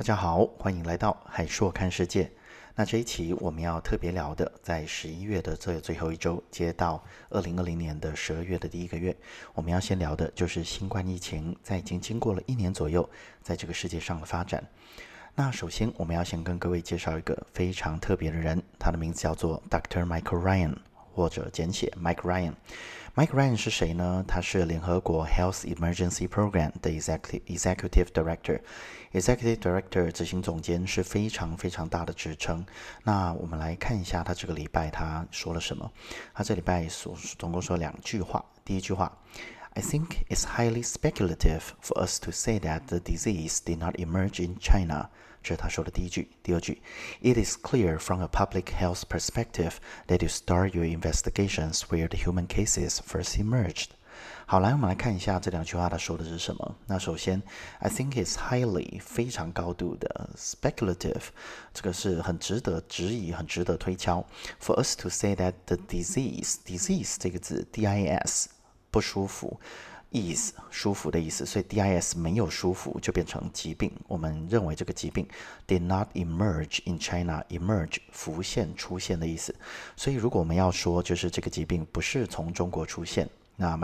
家好，欢迎来到海硕看世界。那这一期我们要特别聊的，在11月的这最后一周，接到2020年的12月的第一个月，我们要先聊的就是新冠疫情在已经经过了1年左右，在这个世界上的发展。那首先我们要先跟各位介绍一个非常特别的人，他的名字叫做 Dr. Michael Ryan， 或者简写 Mike Ryan。Mike Ryan 是谁呢？他是联合国 Health Emergency Program 的 Executive Director。Executive Director 执行总监是非常非常大的职称。那我们来看一下他这个礼拜他说了什么。他这礼拜总共说2句话。第一句话 I think it's highly speculative for us to say that the disease did not emerge in China. 这是他说的第一句。第二句 It is clear from a public health perspective that you start your investigations where the human cases first emerged. 好，来我们来看一下这2句话他说的是什么。那首先 I think it's highly 非常高度的 speculative， 这个是很值得质疑，很值得推敲。For us to say that the disease 这个字 dis 不舒服，ease 舒服的意思，所以 dis 没有舒服就变成疾病。我们认为这个疾病 did not emerge in China， emerge 浮现出现的意思。所以如果我们要说就是这个疾病不是从中国出现，那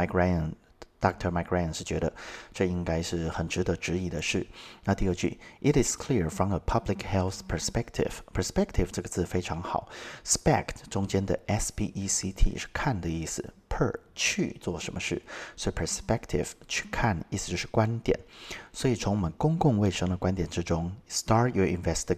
Dr. Mike Ryan 是觉得这应该是很值得质疑的事。那第二句 It is clear from a public health perspective. Perspective 这个字非常好， spect 中间的 spect 是看的意思， per 去做什么事，所以 perspective 去看意思就是观点。所以从我们公共卫生的观点之中 start your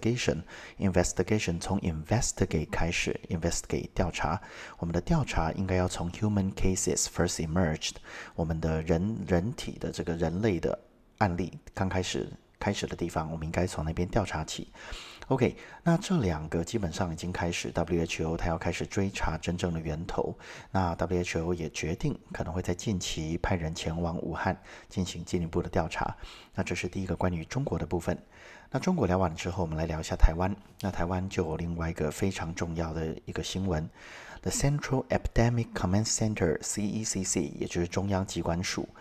investigation 从 investigate 开始， investigate 调查，我们的调查应该要从 human cases first emerged， 我们的人体的这个人类的案例刚开始的地方，我们应该从那边调查起。OK， 那这2个基本上已经开始 WHO 它要开始追查真正的源头。那 WHO 也决定可能会在近期派人前往武汉进行进一步的调查。那这是第一个关于中国的部分。那中国聊完之后，我们来聊一下台湾。那台湾就有另外一个非常重要的一个新闻， The Central Epidemic Command Center CECC 也就是中央疾管署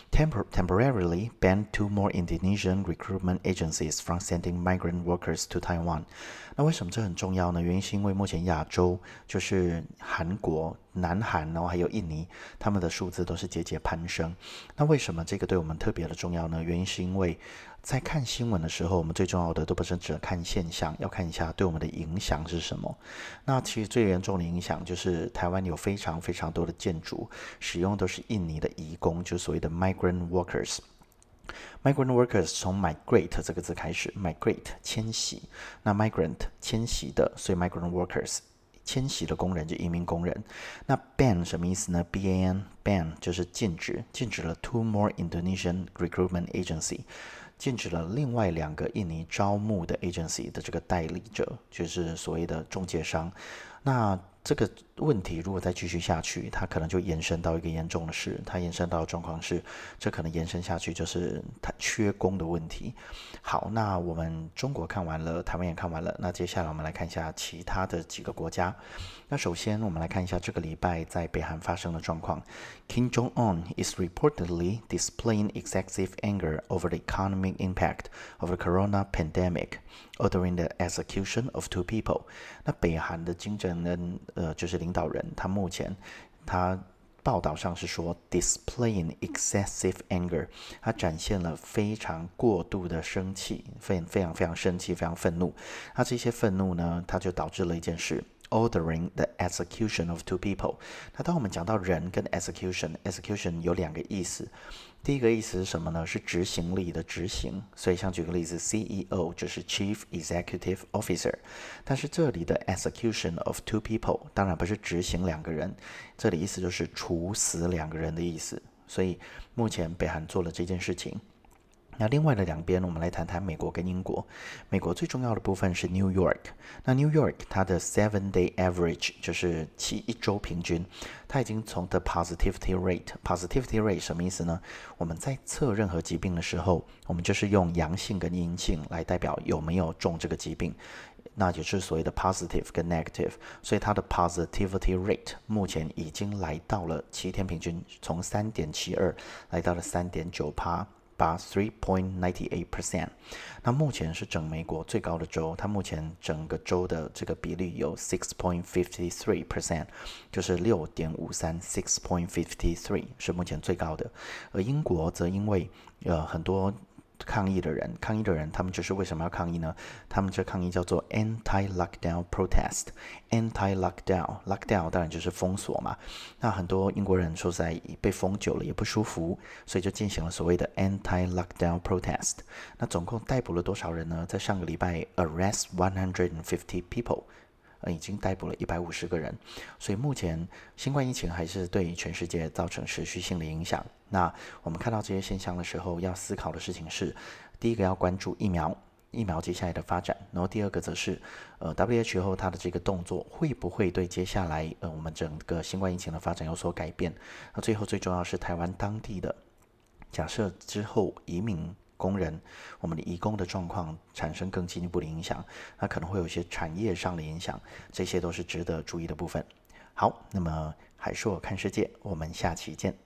temporarily banned 2 more Indonesian recruitment agencies from sending migrant workers to Taiwan。 那为什么这很重要呢？原因是因为目前亚洲就是韩国、南韩，然后还有印尼，他们的数字都是节节攀升。那为什么这个对我们特别的重要呢？原因是因为在看新闻的时候，我们最重要的都不是只看现象，要看一下对我们的影响是什么。那其实最严重的影响就是台湾有非常非常多的建筑使用都是印尼的移工，就是所谓的 migrant workers。Migrant workers 从 migrate 这个字开始， migrate 迁徙，那 migrant 迁徙的，所以 migrant workers 迁徙的工人就移民工人。那 ban 什么意思呢？ ban 就是禁止了 2 more Indonesian recruitment agency， 禁止了另外2个印尼招募的 agency 的这个代理者，就是所谓的中介商。那这个问题如果再继续下去，它可能就延伸到一个严重的事，它延伸到的状况是，这可能延伸下去就是它缺工的问题。好，那我们中国看完了，台湾也看完了，那接下来我们来看一下其他的几个国家。那首先我们来看一下这个礼拜在北韩发生的状况。 Kim Jong-un is reportedly displaying excessive anger over the economic impact of the corona pandemic, ordering the execution of 2 people。 那北韩的金正恩就是领导人，他目前他报道上是说 displaying excessive anger， 他展现了非常过度的生气，非常生气，非常愤怒。那这些愤怒呢，它就导致了一件事， ordering the execution of 2 people。 那当我们讲到人跟 execution 有2个意思。第一个意思是什么呢？是执行力的执行，所以像举个例子 CEO 就是 Chief Executive Officer， 但是这里的 execution of 2 people 当然不是执行2个人，这里意思就是处死2个人的意思。所以目前北韩做了这件事情。那另外的2边，我们来谈谈美国跟英国。美国最重要的部分是 New York。那 New York 它的 7-day average 就是1周平均，它已经从 the positivity rate 什么意思呢？我们在测任何疾病的时候，我们就是用阳性跟阴性来代表有没有中这个疾病。那就是所谓的 positive 跟 negative， 所以它的 positivity rate 目前已经来到了7天平均，从 3.72 来到了 3.9%。 拔 3.98%。那目前是整美国最高的州，它目前整个州的这个比例有 6.53%， 就是6.53 6.53是目前最高的。而英国则因为很多抗议的人，他们就是为什么要抗议呢？他们这抗议叫做 anti-lockdown protest。anti-lockdown 当然就是封锁嘛。那很多英国人说实在被封久了也不舒服，所以就进行了所谓的 anti-lockdown protest。那总共逮捕了多少人呢？在上个礼拜 arrest 150 people。已经逮捕了150个人，所以目前新冠疫情还是对全世界造成持续性的影响。那我们看到这些现象的时候，要思考的事情是：第一个要关注疫苗接下来的发展，然后第二个则是WHO 它的这个动作会不会对接下来我们整个新冠疫情的发展有所改变？那最后最重要是台湾当地的，假设之后移民工人，我们的移工的状况产生更进一步的影响，那可能会有一些产业上的影响，这些都是值得注意的部分。好，那么海硕看世界，我们下期见。